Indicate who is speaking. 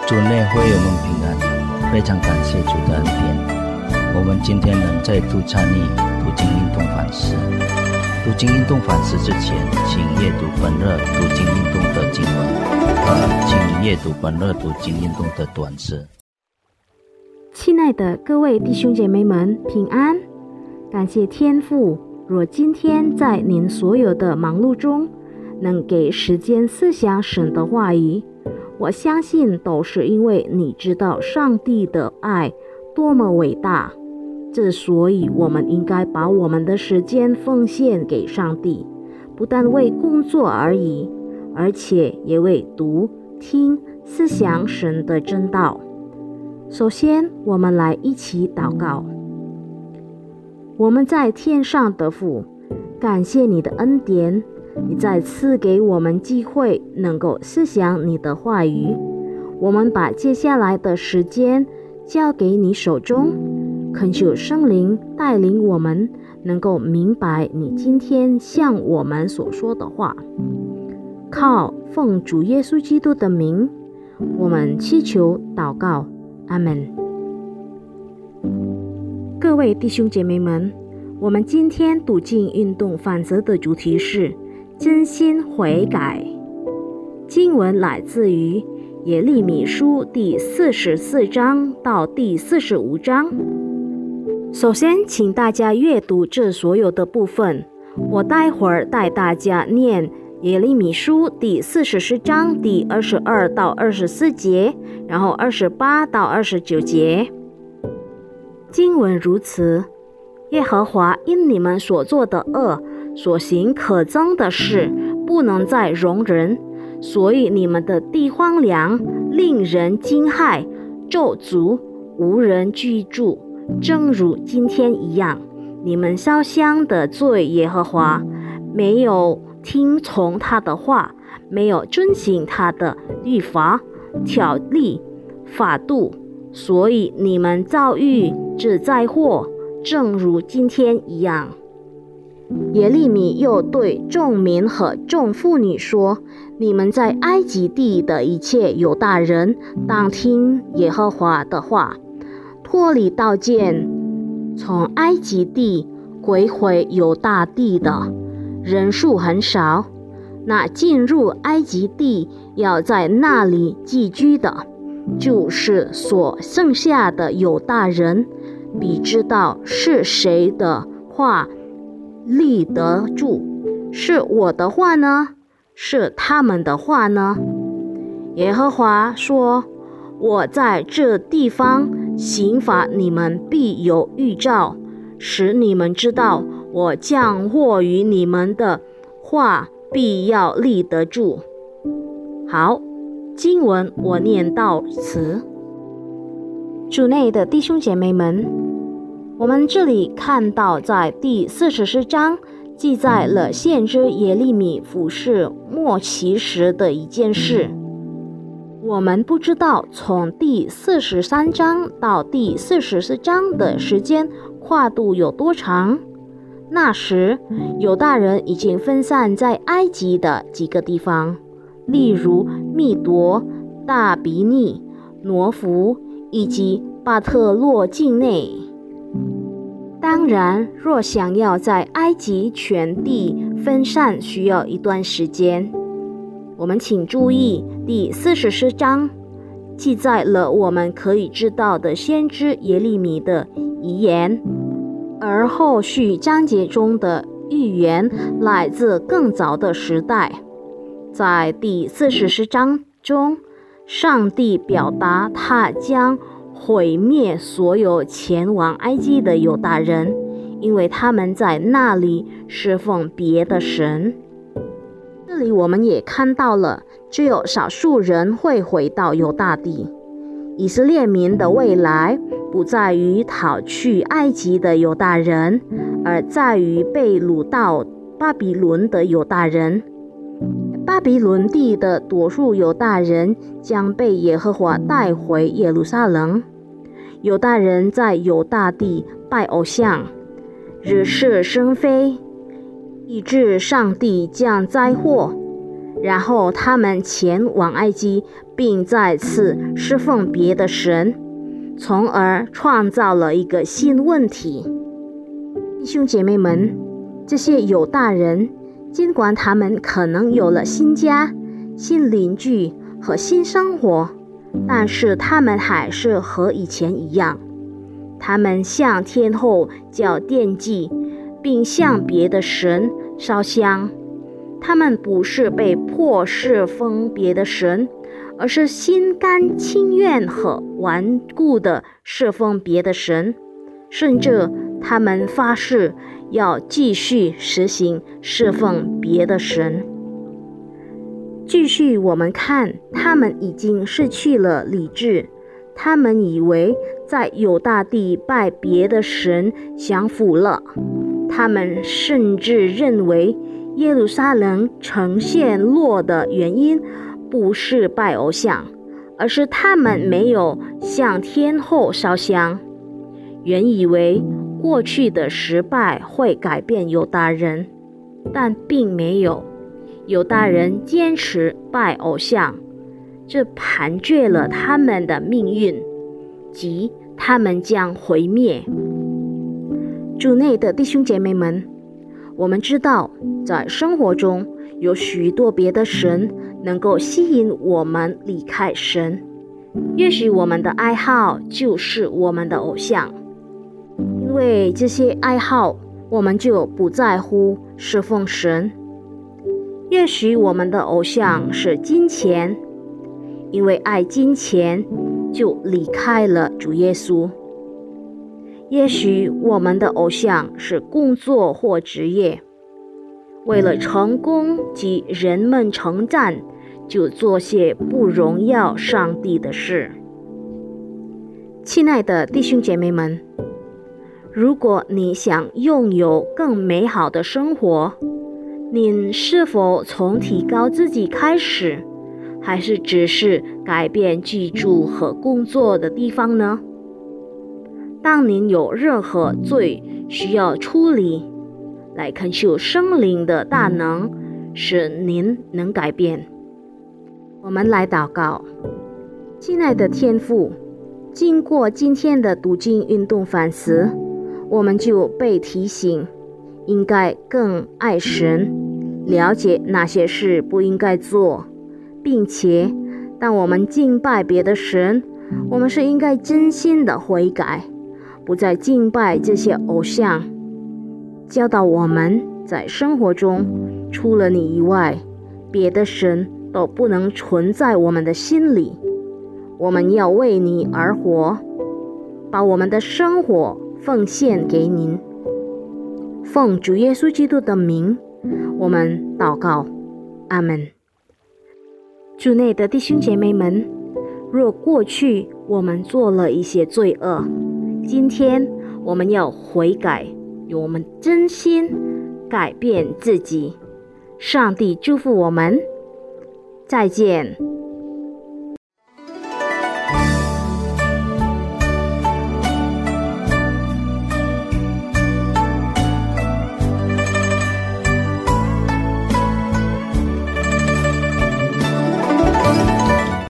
Speaker 1: 主内会友们平安，非常感谢主的恩典。我们今天能再度参与读经运动反思。读经运动反思之前，请阅读本日读经运动的经文，请阅读本日读经运动的短诗。
Speaker 2: 亲爱的各位弟兄姐妹们，平安！感谢天父，若今天在您所有的忙碌中，能给时间思想神的话语，我相信都是因为你知道上帝的爱多么伟大。之所以我们应该把我们的时间奉献给上帝，不但为工作而已，而且也为读、听、思想神的真道。首先，我们来一起祷告。我们在天上的父，感谢你的恩典，你再次给我们机会能够思想你的话语。我们把接下来的时间交给你手中，恳求圣灵带领我们能够明白你今天向我们所说的话。靠奉主耶稣基督的名，我们祈求祷告，阿们。各位弟兄姐妹们，我们今天读经运动反思的主题是真心悔改。经文来自于耶利米书第44章到第45章。首先，请大家阅读这所有的部分。我待会儿带大家念耶利米书第44章第22到24节，然后28到29节。经文如此：耶和华因你们所做的恶，所行可憎的事，不能再容忍，所以你们的地荒凉，令人惊骇，咒诅，无人居住，正如今天一样。你们烧香得罪耶和华，没有听从他的话，没有遵行他的律法、条例、法度，所以你们遭遇这灾祸，正如今天一样。耶利米又对众民和众妇女说：你们在埃及地的一切犹大人，当听耶和华的话。脱离刀剑，从埃及地归回犹大地的人数很少，那进入埃及地要在那里寄居的，就是所剩下的犹大人，必知道是谁的话立得住，是我的话呢？是他们的话呢？耶和华说：我在这地方刑罚你们，必有预兆，使你们知道我降祸于你们的话必要立得住。好，经文我念到此。主内的弟兄姐妹们，我们这里看到在第44章记载了先知耶利米服侍末期时的一件事。我们不知道从第43章到第44章的时间跨度有多长。那时犹大人已经分散在埃及的几个地方，例如密夺、大比尼、挪弗以及巴特洛境内。当然，若想要在埃及全地分散，需要一段时间。我们请注意，第44章记载了我们可以知道的先知耶利米的遗言，而后续章节中的预言来自更早的时代。在第44章中，上帝表达他将毁灭所有前往埃及的犹大人，因为他们在那里侍奉别的神。这里我们也看到了，只有少数人会回到犹大地。以色列民的未来不在于逃去埃及的犹大人，而在于被掳到巴比伦的犹大人。巴比伦地的多数犹大人将被耶和华带回耶路撒冷。犹大人在犹大地拜偶像，惹是生非，以致上帝降灾祸，然后他们前往埃及并再次侍奉别的神，从而创造了一个新问题。弟兄姐妹们，这些犹大人尽管他们可能有了新家、新邻居和新生活，但是他们还是和以前一样，他们向天后叫奠祭，并向别的神烧香。他们不是被迫侍奉别的神，而是心甘情愿和顽固地侍奉别的神，甚至他们发誓要继续实行侍奉别的神。继续我们看，他们已经失去了理智，他们以为在犹大地拜别的神享福了，他们甚至认为耶路撒冷城陷落的原因不是拜偶像，而是他们没有向天后烧香。原以为过去的失败会改变犹大人，但并没有。犹大人坚持拜偶像，这盘踞了他们的命运，即他们将毁灭。主内的弟兄姐妹们，我们知道在生活中有许多别的神能够吸引我们离开神，也许我们的爱好就是我们的偶像，因为这些爱好我们就不在乎侍奉神。也许我们的偶像是金钱，因为爱金钱就离开了主耶稣。也许我们的偶像是工作或职业，为了成功及人们称赞，就做些不荣耀上帝的事。亲爱的弟兄姐妹们，如果你想拥有更美好的生活，您是否从提高自己开始，还是只是改变居住和工作的地方呢？当您有任何罪需要处理，来恳求圣灵的大能，使您能改变。我们来祷告。亲爱的天父，经过今天的读经运动反思，我们就被提醒应该更爱神，了解哪些事不应该做，并且当我们敬拜别的神，我们是应该真心的悔改，不再敬拜这些偶像。教导我们在生活中，除了你以外，别的神都不能存在我们的心里。我们要为你而活，把我们的生活奉献给您。奉主耶稣基督的名，我们祷告，阿们。主内的弟兄姐妹们，若过去我们做了一些罪恶，今天我们要悔改，用我们真心改变自己。上帝祝福我们，再见。